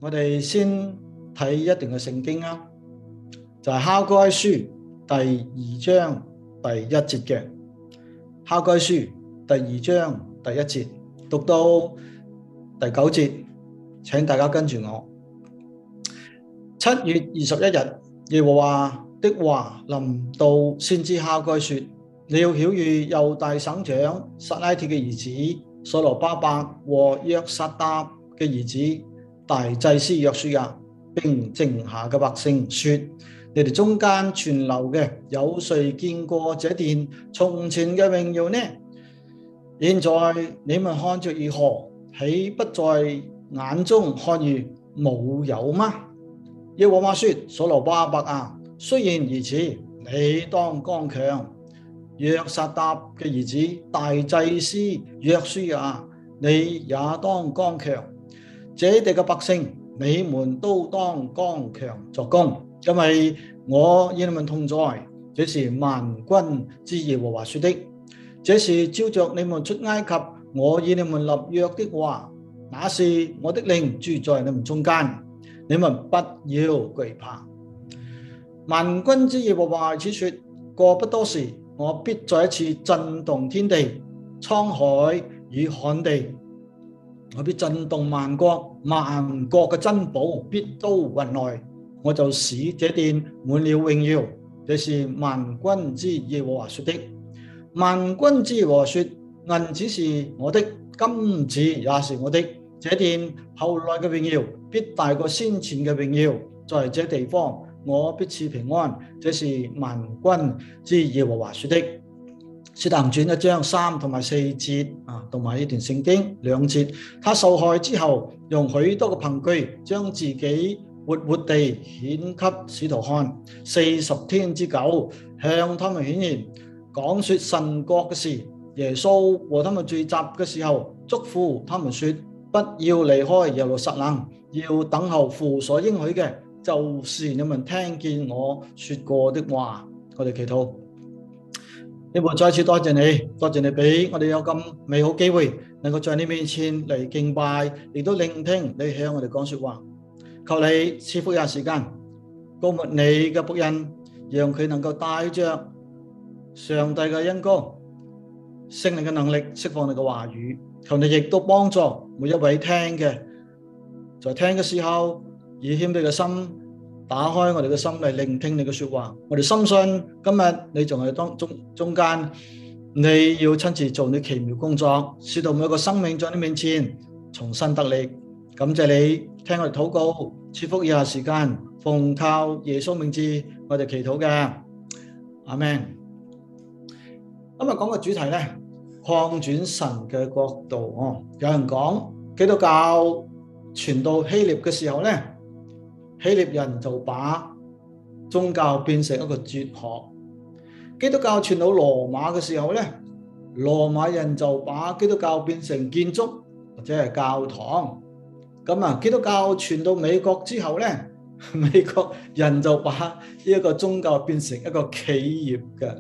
我哋先睇一段嘅聖經啊，就係哈該書第2章第1節嘅。哈該書第2章第1節讀到第9節，請大家跟住我。7月21日，耶和華的話臨到先知哈該說：你要曉諭猶大省長撒拉鐵嘅兒子所羅巴伯和約撒答嘅兒子大祭司約書亞，並剩下嘅百姓說：你哋中間存留嘅，有誰見過這殿從前嘅榮耀呢？現在你們看着如何，豈不在眼中看如無有嗎？耶和華說：所羅巴伯啊，雖然如此，你當剛強；約撒答嘅兒子大祭司約書亞，你也當剛強。這地嘅百姓，你們都當剛強作工，因為我與你們同在。這是萬軍之耶和華說的。這是照着你們出埃及，我與你們立約的話，那是我的靈住在你們中間。你們不要懼怕。萬軍之耶和華此說：過不多時，我必再一次震動天地、滄海與旱地。我必震動萬國，萬國嘅珍寶必都運來，我就使這殿滿了榮耀。這是萬軍之耶和華說的。萬軍之耶和華說：銀子是我的，金子也是我的。這殿後來嘅榮耀必大過先前嘅榮耀，在這地方我必賜平安。這是萬軍之耶和華說的。使徒行傳1章3同埋4節啊，同埋呢段聖經2節。他受害之後，用許多嘅憑據將自己活活地顯給使徒看，40天之久，向他們顯現，講說神國嘅事。耶穌和他們聚集嘅時候，囑咐他們說：不要離開耶路撒冷，要等候父所應許嘅，就是你們聽見我說過的話。我哋祈禱。天父，再次多謝你，多謝你俾我哋有咁美好機會，能夠在你面前嚟敬拜，亦都聆聽你向我哋講說話。求你賜福有時間，膏抹你嘅僕人，讓佢能夠帶着上帝嘅恩膏、聖靈嘅能力釋放你嘅話語。求你亦都幫助每一位聽嘅，在聽嘅時候以謙卑嘅心打開我哋嘅心嚟聆聽你嘅說話。我哋深信今日你仲係中間，你要親自做你奇妙工作，使到每一個生命在你面前重新得力。感謝你聽我哋禱告，賜福以下時間，奉靠耶穌名字我哋祈禱嘅，阿們。今日講嘅主題呢，擴展神嘅國度。有人講基督教傳到希臘嘅時候呢，希臘人就把宗教變成一個哲學；基督教傳到羅馬嘅時候呢，羅馬人就把基督教變成建築或者係教堂。基督教傳到美國之後呢，美國人就把呢一個宗教變成一個企業嘅。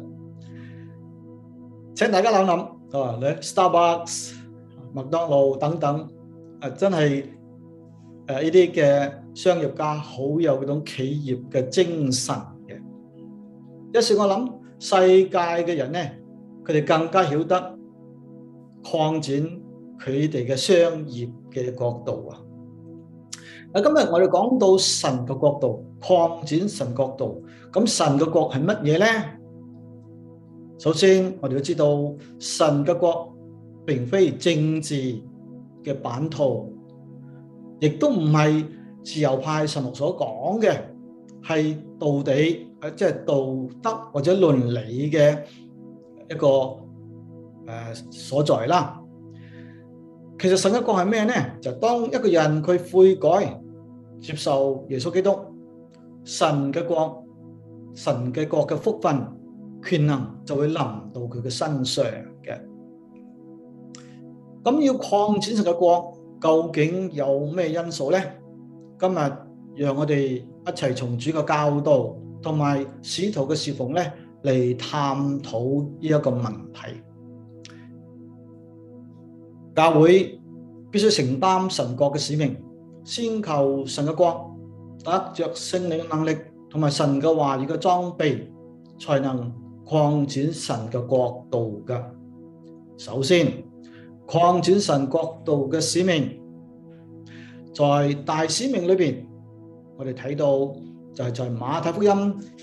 請大家諗諗，Starbucks、麥當勞等等，真係呢啲嘅商業家好有嗰種企業嘅精神嘅。有時我諗世界嘅人呢，佢哋更加曉得擴展佢哋嘅商業嘅角度啊。今日我哋講到神嘅國度，擴展神國度，咁神嘅國係乜嘢呢？首先我哋要知道神嘅國並非政治嘅版圖，亦都唔係自由派神學所講嘅係道理，即係道德或者倫理嘅一個所在啦。其實神嘅國係咩呢？就當一個人佢悔改接受耶穌基督，神嘅國嘅福分權能就會臨到佢嘅身上嘅。咁要擴展神嘅國，究竟有咩因素呢？今日讓我哋一齊從主嘅教導同埋使徒嘅侍奉咧嚟探討呢一個問題。教會必須承擔神國嘅使命， 先求神嘅國，得着聖靈嘅能力同埋神嘅話語嘅裝備，才能擴展神嘅國度嘅。首先，擴展神國度嘅使命，在大使命裏邊，我哋睇到就係在馬太福音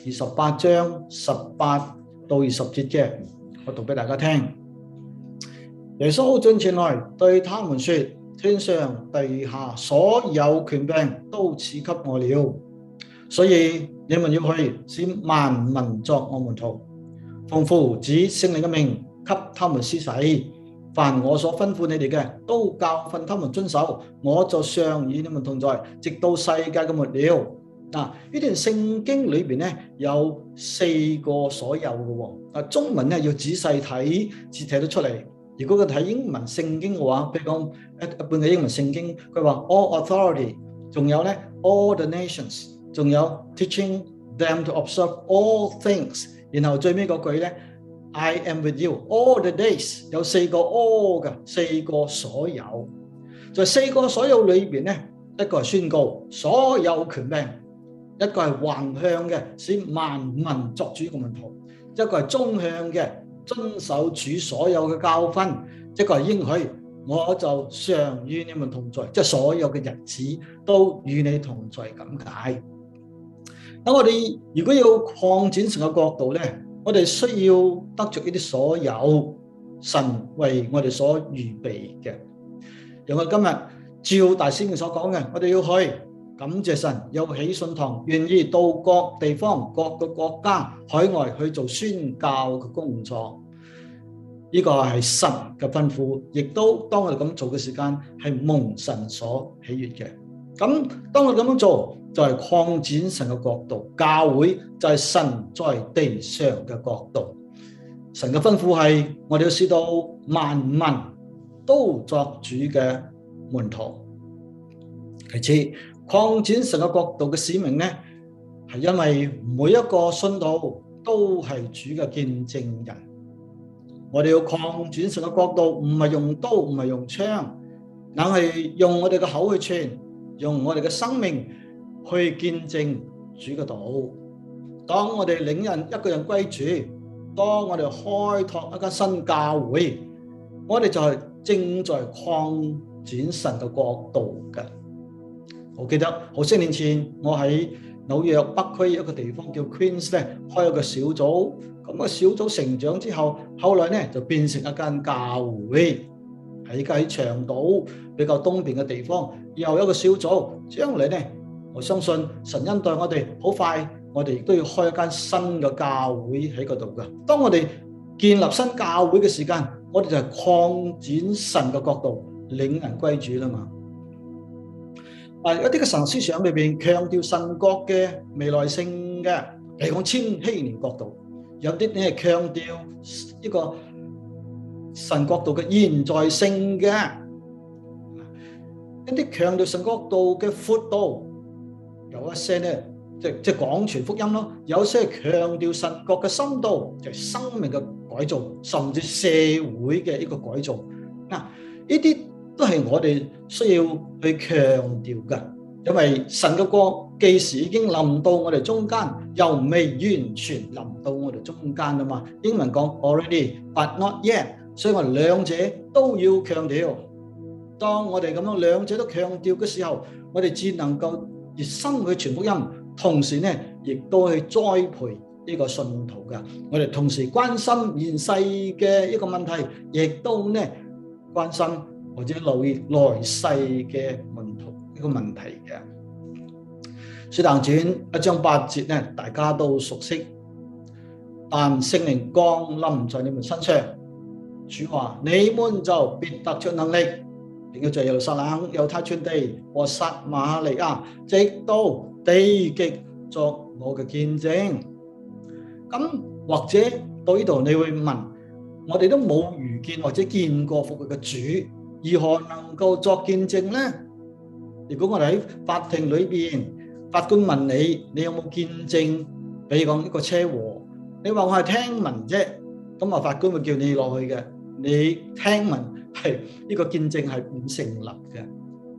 28章18到20節嘅，我讀俾大家聽。耶穌進前來對他們說：天上地下所有權柄都賜給我了，所以你們要去，使萬民作我門徒，奉父子聖靈嘅名給他們施洗，凡我所吩咐你哋嘅，都教訓他們遵守，我就常與你們同在，直到世界嘅末了。嗱，呢段聖經裏邊咧有4個所有嘅，中文咧要仔細睇至睇得出嚟。如果佢睇英文聖經嘅話，譬如講一般嘅英文聖經，佢話 all authority， 仲有咧 all the nations， 仲有 teaching them to observe all things， 然後最尾嗰句咧 I am with you all the days， 有4個 all 嘅4個所有，在4個所有裏邊咧，一個係宣告所有權柄，一個係橫向嘅使萬民作主嘅門徒，一個係縱向嘅遵守主所有嘅教訓，一個係應許我就常與你們同在，即係所有嘅日子都與你同在咁解。咁我哋如果要擴展神嘅國度咧，我哋需要得着呢啲所有神為我哋所預備嘅。讓我今日照大使命所講嘅，我哋要去感謝神，有喜信堂，願意到各地方、各個國家、海外去做宣教嘅工作。呢個係神嘅吩咐，亦都當我哋咁做嘅時間係蒙神所喜悅嘅。咁當我哋咁樣做，就係擴展神嘅國度。教會就係神在地上嘅國度。神嘅吩咐係我哋要使到萬民都作主嘅門徒。其次，擴展神嘅國度嘅使命呢，係因為每一個信徒都係主嘅見證人。我哋要擴展神嘅國度，唔係用刀，唔係用槍，硬係用我哋嘅口去傳，用我哋嘅生命去見證主嘅道。當我哋領人一個人歸主，當我哋開拓一間新教會，我哋就係正在擴展神嘅國度嘅。我記得好些年前，我喺紐約北區一個地方叫 Queens 咧，開一個小組。咁個小組成長之後，後來咧就變成一間教會，喺長島比較東邊嘅地方，又有一個小組。將來咧，我相信神恩待我哋，好快我哋亦都要開一間新嘅教會喺嗰度嘅。當我哋建立新教會嘅時間，我哋就係擴展神嘅國度，領人歸主啦嘛。一啲嘅神思想裏邊強調神國嘅未來性嘅，嚟講千禧年國度。有啲咧係強調呢個神國度嘅現在性嘅，一啲強調神國度嘅闊度，有一些咧即係廣傳福音咯，有些強調神國嘅深度，就係生命嘅改造，甚至社會嘅一個改造。嗱，呢啲都係我哋需要去強調嘅。因為神嘅國既時已經臨到我哋中間，又未完全臨到我哋中間啊嘛。英文講 already but not yet， 所以我哋兩者都要強調。當我哋咁樣兩者都強調嘅時候，我哋只能夠熱心去傳福音，同時呢亦都去栽培呢個信徒嘅。我哋同時關心現世嘅一個問題，亦都呢關心或者留意來世嘅門徒呢個問題嘅。使徒行傳1章8節呢，大家都熟悉。但聖靈降臨在你們身上，主話你們就必得着能力，並要在耶路撒冷、猶太全地和撒瑪利亞，直到地極作我嘅見證。咁或者到呢度你會問，我哋都冇遇見或者見過復活嘅主，如何能夠作見證呢？如果我哋喺法庭裏邊，法官問你，你有冇見證？比如講一個車禍，你話我係聽聞啫，咁啊法官會叫你落去嘅。你聽聞係呢個見證係唔成立嘅。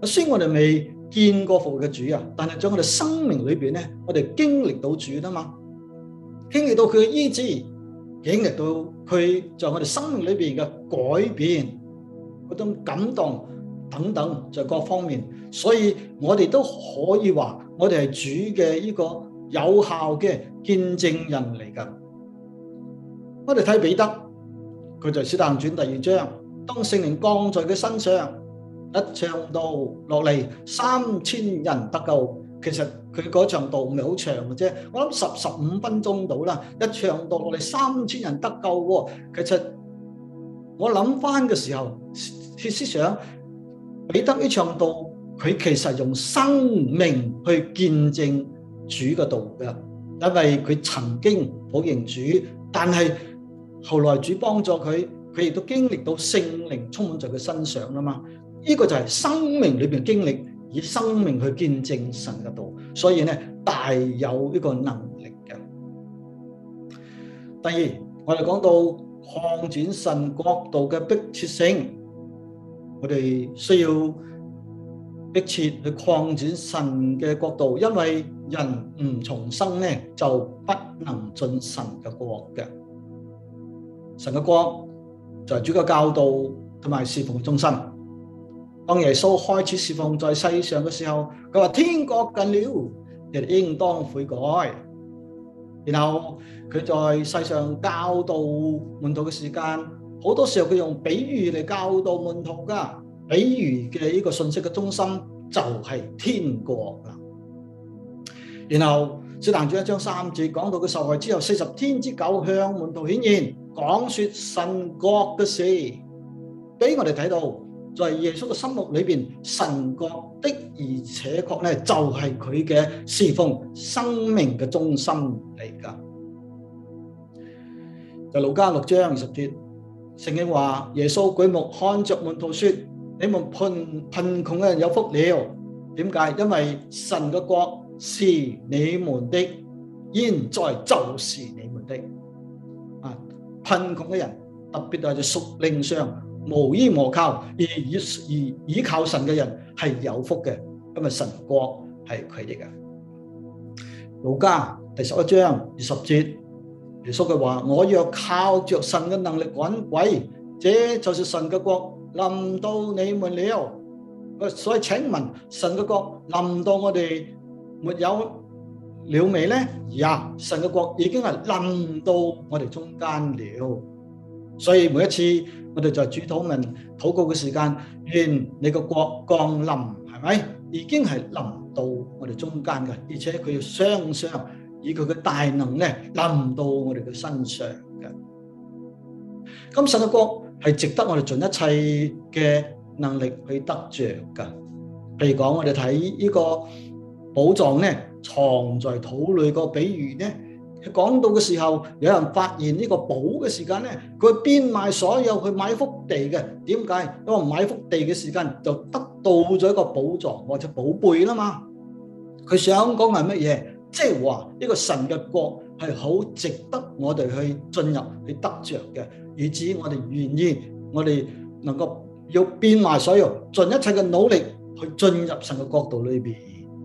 雖然我哋未見過復活嘅主啊，但係在我哋生命裏邊咧，我哋經歷到主啊嘛，經歷到佢嘅醫治，經歷到佢在我哋生命裏邊嘅改變，嗰種感動等等，在各方面，所以我哋都可以話，我哋係主嘅呢個有效嘅見證人嚟㗎。我哋睇彼得，佢就係《使徒行傳》第2章，當聖靈降在佢身上，一唱道落嚟，3000人得救。其實佢嗰場道唔係好長嘅啫，我諗15分鐘到啦。一唱道落嚟，3000人得救喎。其實我諗翻嘅時候，思想彼得呢場道，佢其實用生命去見證主嘅道嘅，因為佢曾經否認主，但係後來主幫助佢，佢亦都經歷到聖靈充滿在佢身上啦嘛。呢個就係生命裏邊經歷，以生命去見證神嘅道，所以咧大有呢個能力嘅。第二，我哋講到擴展神國度嘅迫切性，我哋需要迫切去擴展神嘅國度，因為人唔重生咧，就不能進神嘅國嘅。神嘅國就係主嘅教導同埋侍奉嘅中心。當耶穌開始侍奉在世上嘅時候，佢話天國近了，你哋應當悔改。然後佢在世上教導門徒嘅時間，好多時候佢用比喻嚟教導門徒噶。比喻嘅呢個信息嘅中心就係天國啦。然後使徒行傳1章3節講到佢受害之後40天之久，向門徒顯現，講說神國嘅事，俾我哋睇到。在耶穌嘅心目裏邊，神國的而且確咧就係佢嘅侍奉生命嘅中心嚟噶。就路加6章20節，聖經話耶穌舉目看着門徒說：你們貧窮嘅人有福了。點解？因為神嘅國是你們的，現在就是你們的。貧窮嘅人，特別係在屬靈上無依無靠而依靠神嘅人係有福嘅，因為神國係佢哋嘅。路加第11章20節，耶穌佢話：我若靠着神嘅能力趕鬼，這就是神嘅國臨到你們了。所以請問神嘅國臨到我哋沒有了未呢？呀，神嘅國已經係臨到我哋中間了。所以每一次我哋在主禱文禱告嘅時間，願你個國降臨，係咪？已經係臨到我哋中間嘅，而且佢要雙雙以佢嘅大能咧臨到我哋嘅身上嘅。咁神嘅國係值得我哋盡一切嘅能力去得着噶。譬如講，我哋睇呢個寶藏咧藏在土裏個比喻咧。講到嘅時候，有人發現呢個寶嘅時間咧，佢變賣所有去買幅地嘅。點解？因為買幅地嘅時間就得到咗一個寶藏或者寶貝啦嘛。佢想講係乜嘢？即係話呢個神嘅國係好值得我哋去進入去得着嘅，以至我哋願意，我哋能夠要變賣所有，盡一切嘅努力去進入神嘅國度裏邊。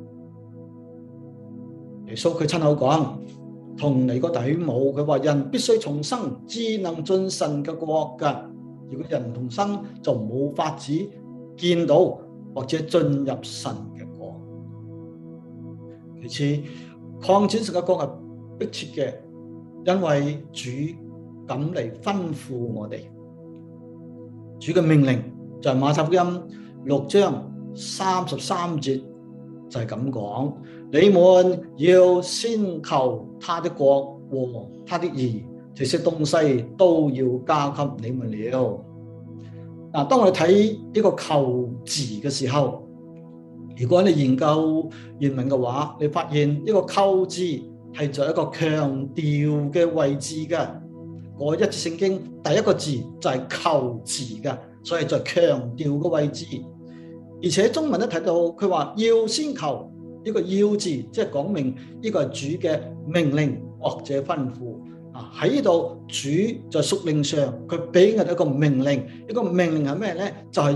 耶穌佢親口講。同尼哥底母，佢話人必須重生，至能進神嘅國噶。如果人唔重生，就冇法子見到或者進入神嘅國。其次，擴展神嘅國係迫切嘅，因為主咁嚟吩咐我哋。主嘅命令就係馬太福音6章33節就係咁講。你們要先求他的國和他的義，這些東西都要加給你們了。嗱，當我哋睇呢個求字嘅時候，如果你研究原文嘅話，你發現呢個求字係在一個強調嘅位置嘅。嗰一節聖經第一個字就係求字嘅，所以在強調嘅位置。而且中文都睇到佢話要先求。呢個要字即係講明呢個係主嘅命令或者吩咐啊。喺呢度主在屬靈上佢俾我哋一個命令，呢個命令係咩咧？就係要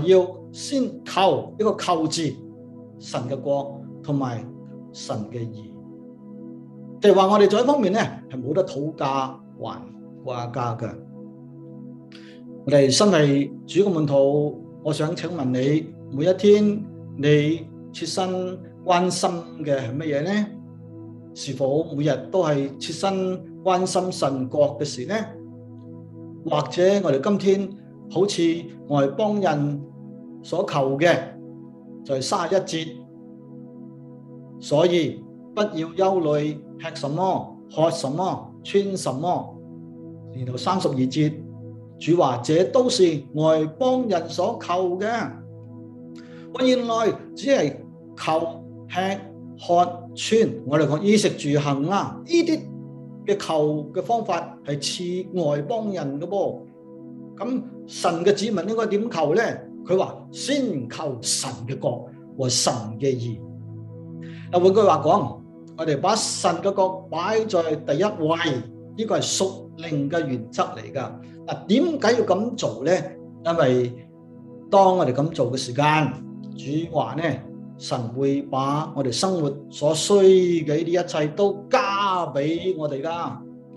先求一個求字，神嘅國同埋神嘅義。即係話我哋在一方面咧係冇得討價還價嘅。我哋身為主嘅門徒，我想請問你，每一天你切身關心嘅係乜嘢呢？是否每日都係切身關心神國嘅事呢？或者我哋今天好似外邦人所求嘅就係31節，所以不要憂慮吃什麼、喝什麼、穿什麼。然後32節，主話這都是外邦人所求嘅。我原來只係求吃喝穿，我哋講衣食住行啦，呢啲嘅求嘅方法係似外邦人嘅噃。咁神嘅子民應該點求呢？佢話先求神嘅國和神嘅義。換句話講，我哋把神嘅國擺在第一位，呢個係屬靈嘅原則嚟㗎。點解要咁做呢？因為當我哋咁做嘅時間，主話呢，神會把我哋生活所需嘅呢啲一切都加俾我哋㗎。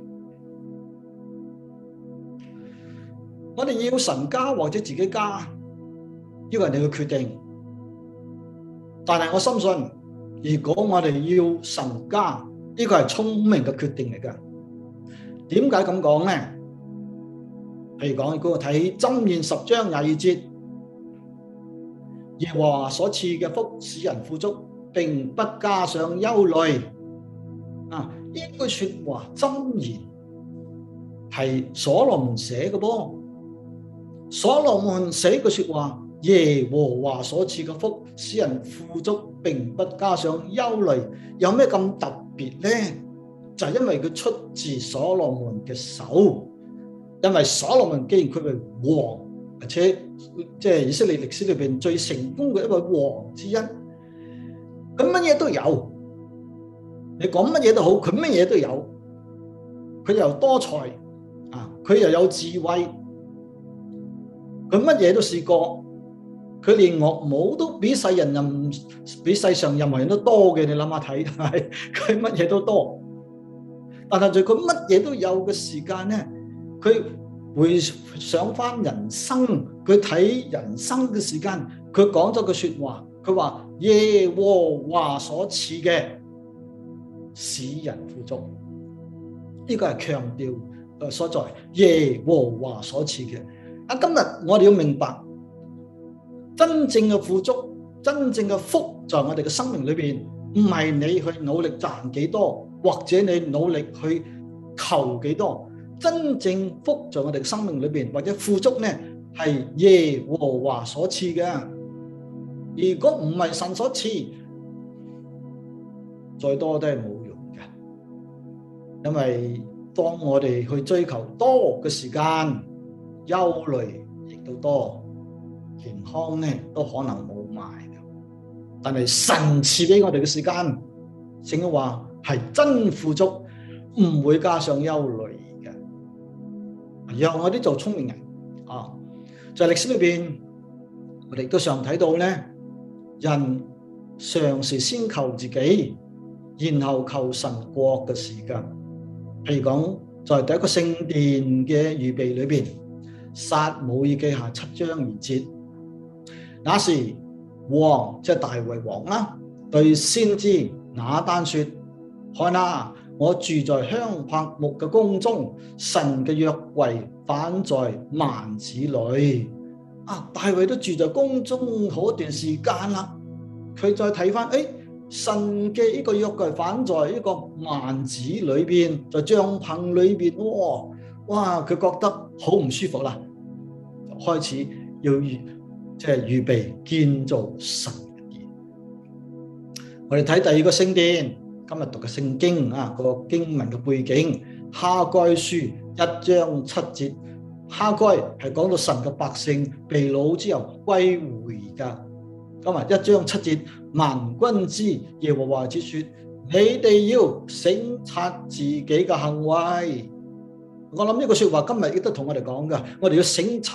我哋要神加或者自己加，呢個係你嘅決定。但係我深信，如果我哋要神加，呢個係聰明嘅決定嚟㗎。點解咁講呢？譬如講，如果我睇箴言10章22節，耶和華所賜嘅福使人富足，並不加上憂慮。呢句說話箴言係所羅門寫嘅噃。所羅門寫句說話，耶和華所賜嘅福使人富足，並不加上憂慮，有咩咁特別呢？就係因為佢出自所羅門嘅手。因為所羅門既然佢係王，而且即係以色列歷史裏邊最成功嘅一位王之一，佢乜嘢都有，你講乜嘢都好，佢乜嘢都有，佢又多才佢又有智慧，佢乜嘢都試過，佢連樂舞都比世上任何人都多嘅，你諗下睇，係佢乜嘢都多，但係在佢乜嘢都有嘅時間呢？佢回想翻人生，佢睇人生嘅時間，佢講咗句說話，佢話耶和華所賜嘅使人富足，呢個係強調所在，耶和華所賜嘅。今日我哋要明白，真正嘅富足，真正嘅福，在我哋嘅生命裏邊，唔係你去努力賺幾多，或者你努力去求幾多。真正福在我哋嘅生命裏邊，或者富足呢，係耶和華所賜嘅。如果唔係神所賜，再多都係冇用嘅。因為當我哋去追求多嘅時間，憂慮亦都多，健康呢都可能冇埋。但係神賜俾我哋嘅時間，聖經話係真富足，唔會加上憂慮。讓我哋做聰明人在歷史裏邊，我哋都常睇到咧，人常是先求自己，然後求神國嘅時間。譬如講，在第一個聖殿嘅預備裏邊，撒母耳記下7章2節，那時王即係大衛王啦，對先知拿單說：看啊！我住在香柏木嘅宮中，神嘅約櫃反在幔子裏。大衛都住在宮中好一段時間啦，佢再睇翻，神嘅呢個約櫃反在呢個幔子裏邊，在帳篷裏邊，哇，佢覺得好唔舒服啦，就開始要預備建造神嘅殿。我哋睇第二個聖殿。今日讀嘅聖經個經文嘅背景，哈該書1章7節，哈該係講到神嘅百姓被擄之後歸回噶。今日1章7節，萬軍之耶和華之說：你哋要省察自己嘅行為。我諗呢個說話今日亦都同我哋講噶，我哋要省察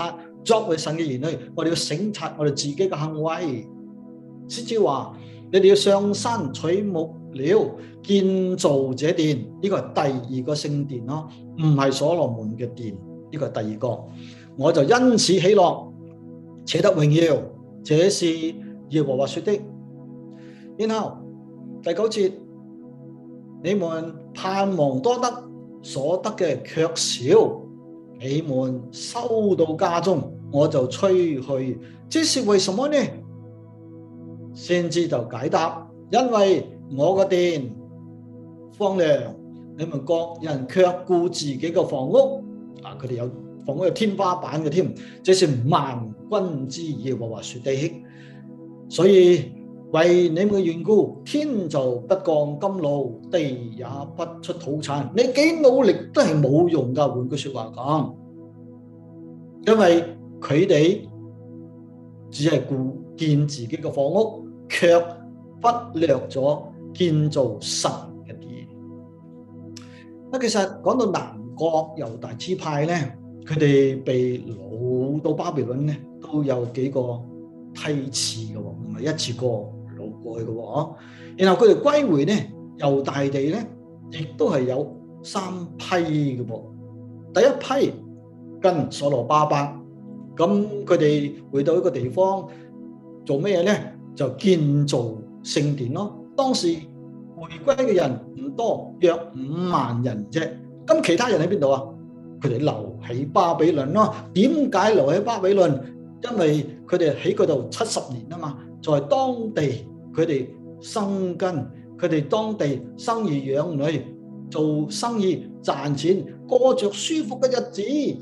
作為神嘅兒女，我哋要省察我哋自己嘅行為，先至話你哋要上山取木料建造這殿，呢個係第二個聖殿咯，唔係所羅門嘅殿，呢個係第二個。我就因此喜樂，且得榮耀，這是耶和華說的。然後第9節，你們盼望多得，所得嘅卻少，你們收到家中，我就吹去，這是為什麼呢？先知就解答，因為我嘅殿荒涼，你們各人卻顧自己嘅房屋，佢哋有房屋有天花板嘅添，這是萬軍之耶和華說的。所以為你們嘅緣故，天就不降甘露，地也不出土產。你幾努力都係冇用噶。換句說話講，因為佢哋只係顧建自己嘅房屋，卻忽略咗建造神嘅殿。其實講到南國猶大支派咧，佢哋被擄到巴比倫咧，都有幾個梯次嘅，唔係一次過擄過去嘅。然後佢哋歸回咧，猶大地咧，亦都係有3批嘅噃。第一批跟所羅巴伯，咁佢哋回到一個地方做咩嘢咧？就建造聖殿咯。當時回歸嘅人唔多，約5萬人啫。咁其他人喺邊度啊？佢哋留喺巴比倫咯。點解留喺巴比倫？因為佢哋喺嗰度70年啊嘛，在當地佢哋生根，佢哋當地生兒養女，做生意賺錢，過着舒服嘅日子。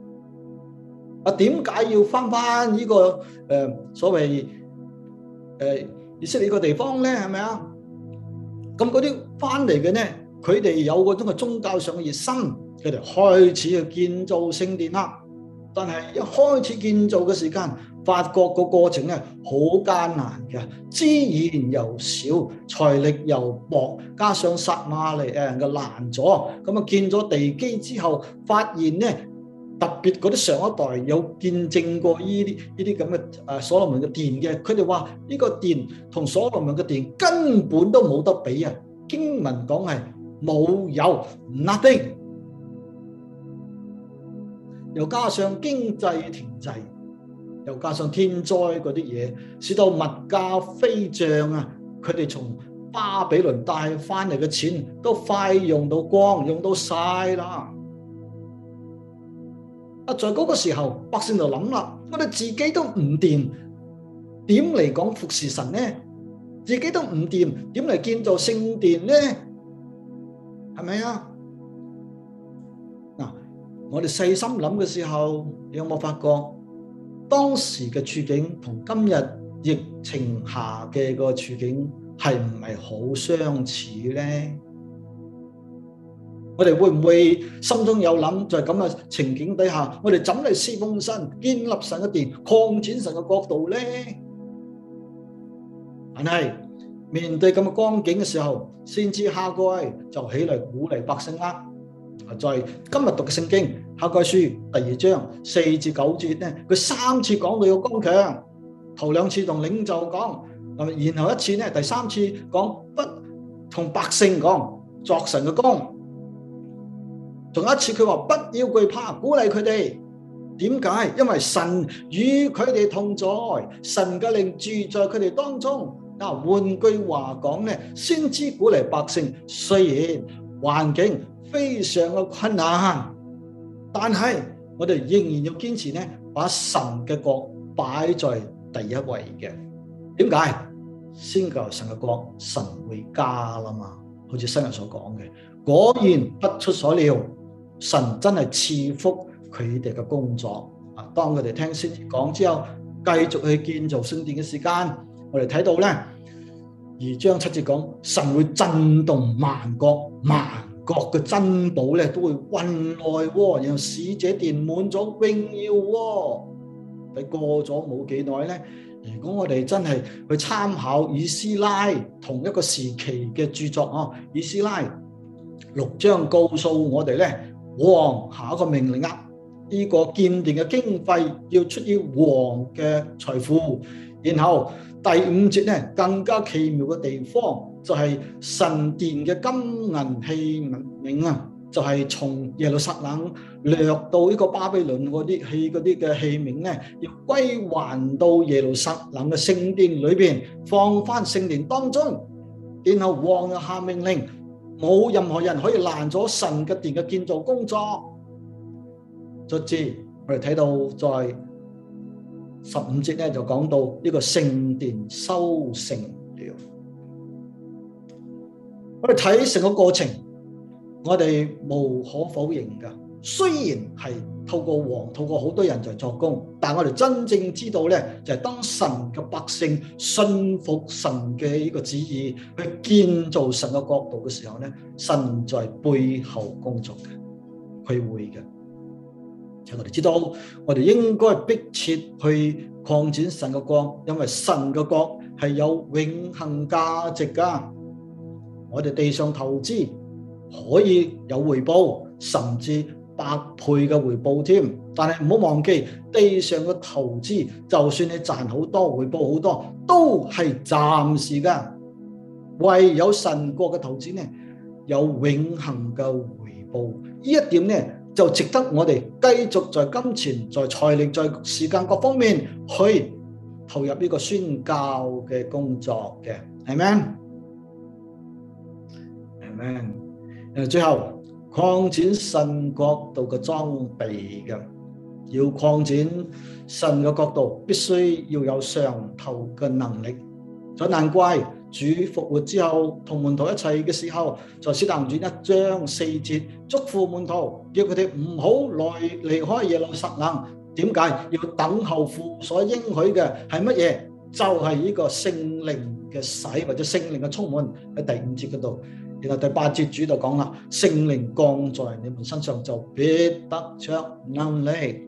點解要翻呢個所謂以色列個地方咧？係咪啊？咁嗰啲翻嚟嘅咧，佢哋有嗰種嘅宗教上嘅熱心，佢哋開始去建造聖殿啦。但係一開始建造嘅時間，發覺個過程咧好艱難嘅，資源又少，財力又薄，加上撒瑪利亞人嘅攔阻，咁啊建咗地基之後，發現咧。特別嗰啲上一代有見證過呢啲咁嘅所羅門嘅殿嘅，佢哋話呢個殿同所羅門嘅殿根本都冇得比啊！經文講係冇有 nothing， 又加上經濟停滯，又加上天災嗰啲嘢，使到物價飛漲啊！佢哋從巴比倫帶翻嚟嘅錢都快用到光，用到晒啦。在嗰個時候，百姓就諗啦，我哋自己都唔掂，點嚟講服侍神呢？自己都唔掂，點嚟建造聖殿呢？係咪啊？嗱，我哋細心諗嘅時候，你有冇發覺當時嘅處境同今日疫情下嘅個處境係唔係好相似呢？我哋會唔會心中有諗，在咁嘅情景底下，我哋怎嚟侍奉神、建立神嘅殿、擴展神嘅國度呢？但係面對咁嘅光景嘅時候，先知哈該就起嚟鼓勵百姓啦。在今日讀嘅聖經哈該書第2章4至9節咧，佢3次講到要剛強，頭2次同領袖講，然後一次咧，第3次講不同百姓講作神嘅工。仲有一次佢話不要懼怕，鼓勵佢哋。點解？因為神與佢哋同在，神嘅靈住在佢哋當中。換句話講咧，先知鼓勵百姓，雖然環境非常嘅困難，但係我哋仍然要堅持咧，把神嘅國擺在第一位嘅。點解？先求神嘅國，神會加啦嘛。好似新約所講嘅，果然不出所料。神真係賜福佢哋嘅工作啊！當佢哋聽先知講之後，繼續去建造聖殿嘅時間，我哋睇到咧2章7節講，神會震動萬國，萬國嘅珍寶咧都會運來，然後使這殿滿咗榮耀喎。你過咗冇幾耐咧，如果我哋真係去參考以斯拉同一個時期嘅著作啊，以斯拉6章告訴我哋咧。王下一個命令啊， 呢個建殿嘅經費要出於王嘅財富。然後第5節咧更加奇妙嘅地方就係神殿嘅金銀器皿啊，就係從耶路撒冷掠到呢個巴比倫嗰啲嘅器皿咧，要歸還到耶路撒冷嘅聖殿裏邊，放翻聖殿當中。然後王又下命令，冇任何人可以攔咗神嘅殿嘅建造工作。卒之我哋睇到在15節咧就講到呢個聖殿修成了。我哋睇成個過程，我哋無可否認噶，雖然係透過王、透過好多人在作工，但我哋真正知道咧，就係當神嘅百姓信服神嘅呢個旨意，去建造神嘅國度嘅時候咧，神在背後工作嘅，佢會嘅。我哋知道，我哋應該迫切去擴展神嘅國，因為神嘅國係有永恆價值噶。我哋地上投資可以有回報，甚至百倍嘅回報添。但係唔好忘記，地上嘅投資，就算你賺好多，回報好多，都係暫時噶。唯有神國嘅投資呢，有永恆嘅回報。呢一點呢，就值得我哋繼續在金錢、在財力、在時間各方面去投入呢個宣教嘅工作嘅，係咪？係咪？最後擴展神國度嘅裝備嘅，要擴展神嘅國度，必須要有上頭嘅能力。就難怪主復活之後同門徒一齊嘅時候，在使徒行傳1章4節囑咐門徒，叫佢哋唔好離開耶路撒冷。點解？要等候父所應許嘅係乜嘢？就係呢個聖靈嘅洗或者聖靈嘅充滿，喺第5節嗰度。然後第8節主就講啦，聖靈降在你們身上，就必得着能力。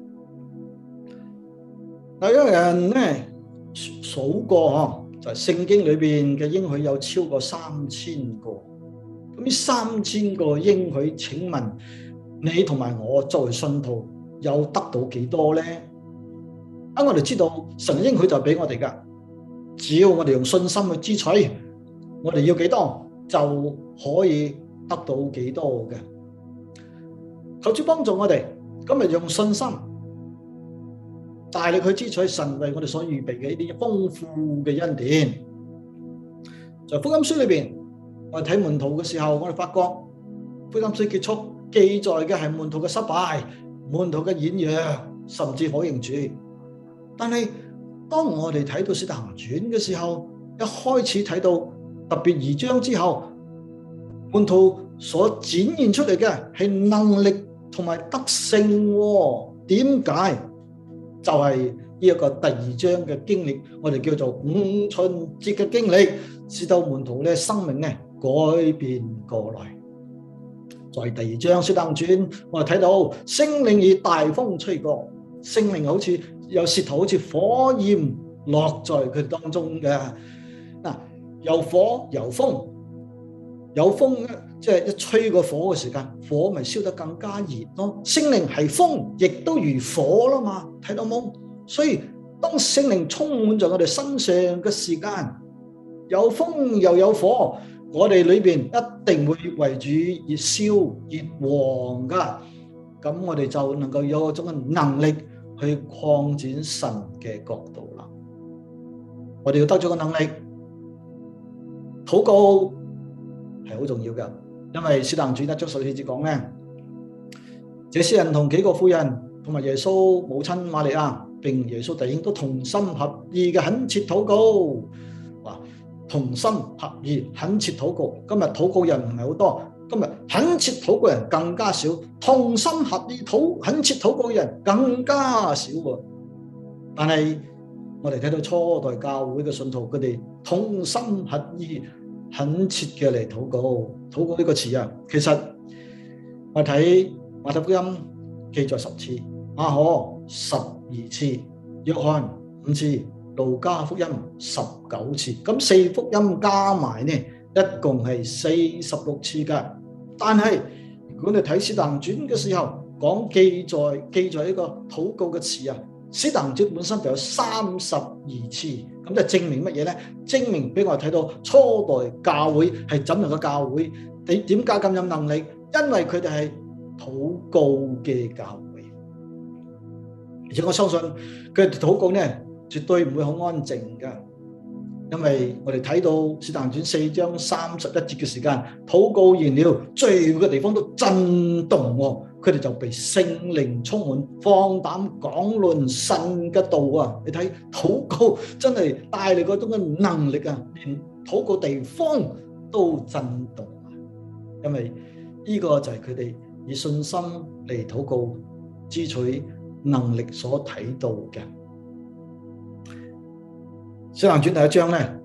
有人咧數過就係聖經裏邊嘅應許有超過3000個。咁呢3000個應許，請問你同埋我作為信徒有得到幾多呢？我哋知道神應許就俾我哋噶，只要我哋用信心去支取，我哋要幾多就可以得到幾多嘅。求主幫助我哋，今日用信心大力去支取神為我哋所預備嘅呢啲豐富嘅恩典。在福音書裏邊，我哋睇門徒嘅時候，我哋發覺福音書結束記載嘅係門徒嘅失敗、門徒嘅軟弱，甚至否認主。但係當我哋睇到使徒行傳嘅時候，一開始睇到特別2章之後，門徒所展現出嚟嘅係能力同埋德性。點解？就係呢一個第2章嘅經歷，我哋叫做五旬節嘅經歷，使到門徒咧生命咧改變過來。在第2章使徒行傳，我哋睇到聖靈以大風吹過，聖靈好似有舌頭，好似火焰落在佢當中嘅。嗱，有火有風，有風咧，即係一吹個火嘅時間，火咪燒得更加熱咯。聖靈係風，亦都如火啦嘛，睇到冇？所以當聖靈充滿在我哋身上嘅時間，有風又有火，我哋裏邊一定會為主熱燒熱旺噶。咁我哋就能夠有嗰種嘅能力去擴展神嘅國度啦。我哋要得咗個能力，禱告係好重要嘅，因為使徒行傳1章14節講咧，這些人同幾個婦人同埋耶穌母親瑪利亞並耶穌弟兄都同心合意嘅懇切禱告。同心合意懇切禱告，今日禱告人唔係好多，今日懇切禱告人更加少，同心合意懇切禱告人更加少。但係我哋睇到初代教會嘅信徒，佢哋同心合意懇切嘅嚟禱告。禱告呢個詞啊，其實我睇馬太福音記載10次，馬可12次，約翰5次，路加福音19次，咁4福音加埋呢，一共係46次噶。但係如果你睇使徒行傳嘅時候， 記載呢個禱告嘅詞啊，使徒行傳本身就有32次，咁就證明乜嘢咧？證明俾我哋睇到初代教會係怎樣嘅教會，點解咁有能力？因為佢哋係禱告嘅教會，而且我相信佢哋禱告咧絕對唔會好安靜噶，因為我哋睇到《使徒行傳》4章31節嘅時間，禱告完了，聚會嘅地方都震動喎，佢哋就被聖靈充滿，放膽講論神嘅道啊！你睇禱告真係帶嚟嗰種嘅能力啊，連禱告地方都震動啊！因為呢個就係佢哋以信心嚟禱告支取能力所睇到嘅。《使徒行傳》第1章咧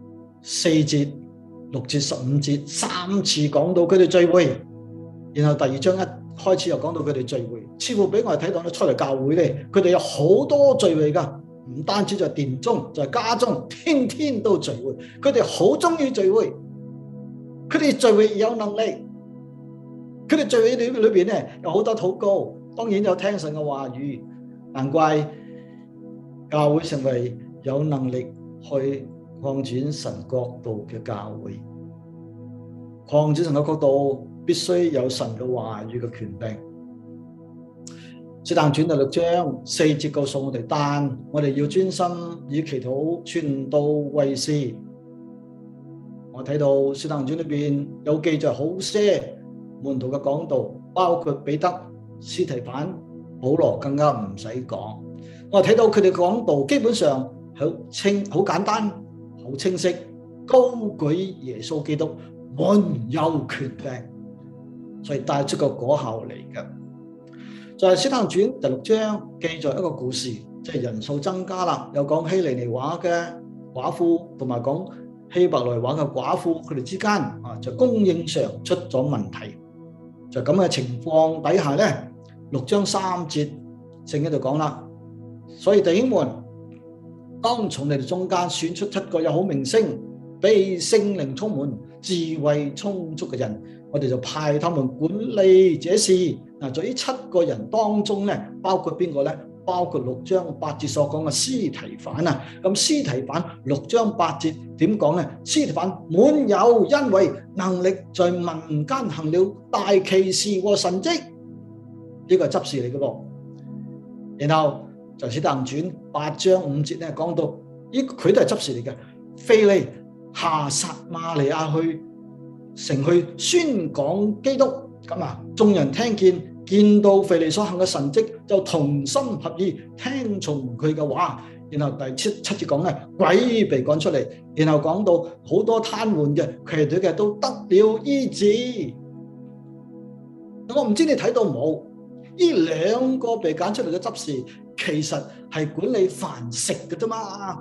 4節、6節、15節3次講到佢哋聚會，然後第2章一開始又講到佢哋聚會，似乎俾我哋睇到咧出嚟教會咧，佢哋有好多聚會噶，唔單止在殿中，在家中，天天都聚會。佢哋好中意聚會，佢哋聚會有能力，佢哋聚會裏邊咧有好多禱告，當然有聽神嘅話語，難怪教會成為有能力去擴展神國度嘅教會。擴展神嘅國度必須有神嘅話語嘅權柄。使徒行傳第6章4節告訴我哋，但我哋要專心以祈禱傳道為事。我睇到使徒行傳裏邊有記載好些門徒嘅講道，包括彼得、司提反、保羅，更加唔使講。我睇到佢哋講道基本上好簡單、好清晰，高舉耶穌基督，滿有權柄，所以帶出個果效嚟嘅。在《使徒行傳》第6章記載一個故事，即係人數增加啦，有講希利尼話嘅寡婦同埋講希伯來話嘅寡婦，佢哋之間就供應上出咗問題。就咁嘅情況底下咧，6章3節聖經度講啦，所以弟兄們，當從你哋中間選出7個有好名聲、被聖靈充滿、智慧充足嘅人，我哋就派他們管理這事。嗱，在呢7個人當中咧，包括邊個咧？包括6章8節所講嘅司提反啊。咁司提反6章8節點講咧？司提反滿有恩惠，能力在民間行了大奇事和神蹟，呢個係執事嚟嘅噃。然後就使徒行傳8章5節咧講到，佢都係執事嚟嘅。腓利下撒瑪利亞城去宣講基督，咁眾人見到腓利所行嘅神蹟，就同心合意聽從佢嘅話。然後第7節講咧，鬼被趕出嚟，然後講到好多癱瘓嘅、瘸腿嘅都得了醫治。我唔知你睇到冇？呢2個被揀出嚟嘅執事，其實係管理飯食嘅啫嘛。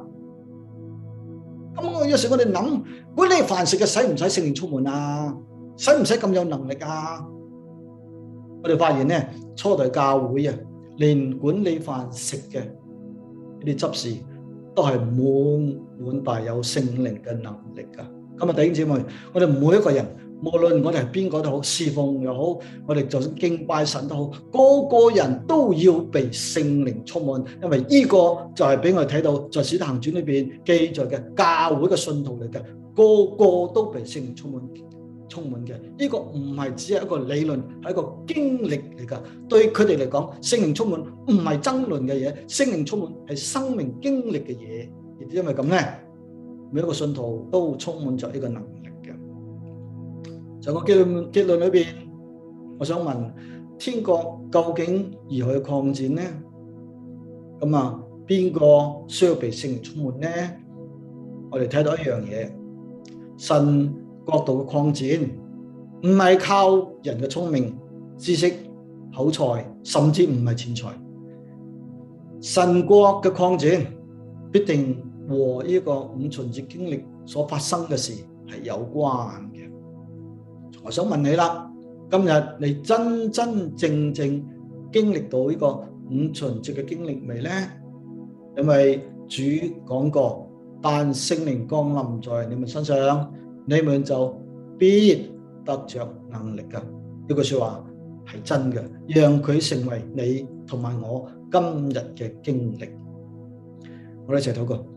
咁有時我哋諗，管理飯食嘅使唔使聖靈充滿啊？使唔使咁有能力啊？我哋發現咧，初代教會啊，連管理飯食嘅呢啲執事都係滿帶有聖靈嘅能力噶。咁啊，弟兄姊妹，我哋每一個人，無論我哋係邊個都好，侍奉又好，我哋就算敬拜神都好，個個人都要被聖靈充滿，因為呢個就係俾我哋睇到在使徒行傳裏邊記載嘅教會嘅信徒嚟嘅，個個都被聖靈充滿嘅。呢個唔係只係一個理論，係一個經歷嚟噶。對佢哋嚟講，聖靈充滿唔係爭論嘅嘢，聖靈充滿係生命經歷嘅嘢。亦因為咁咧，每一個信徒都充滿咗呢個能力嘅。在個結論裏邊，我想問：天國究竟如何去擴展呢？咁邊個需要被聖靈充滿呢？我哋睇到一樣嘢，神國度嘅擴展唔係靠人嘅聰明、知識、口才，甚至唔係錢財。神國嘅擴展必定和呢個五旬節經歷所發生嘅事係有關嘅。我想問你啦，今日你真真正正經歷到呢個五旬節嘅經歷未呢？因為主講過，但聖靈降臨在你們身上，你們就必得着能力噶。呢句說話係真嘅，讓佢成為你同埋我今日嘅經歷。我哋一齊禱告。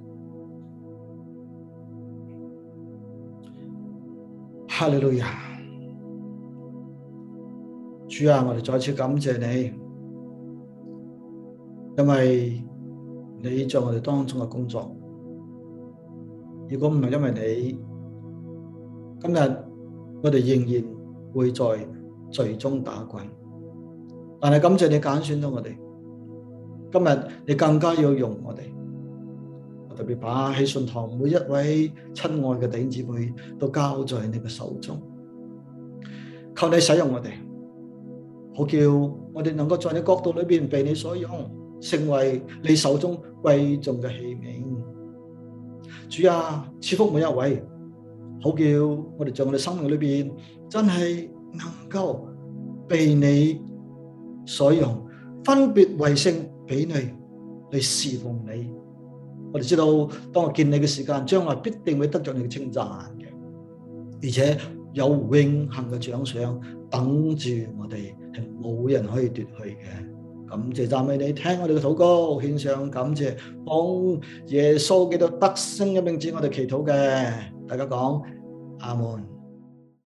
哈利路亞，主啊，我哋再次感謝你，因為你在我哋當中嘅工作。如果唔係因為你，今日我哋仍然會在罪中打滾。但係感謝你揀選咗我哋，今日你更加要用我哋。我特別把喜信堂每一位親愛嘅弟兄姊妹都交在你嘅手中，求你使用我哋，好叫我哋能夠在你國度裏邊被你所用，成為你手中貴重嘅器皿。主啊，賜福每一位，好叫我哋在我哋生命裏邊真係能夠被你所用，分別為聖俾你，嚟侍奉你。我哋知道，當我見你嘅時間，將來必定會得着你嘅稱讚嘅，而且有永恆嘅獎賞等住我哋，係冇人可以奪去嘅。感謝讚美你，聽我哋嘅禱告，獻上感謝，奉耶穌基督得勝嘅名字，我哋祈禱嘅，大家講阿門。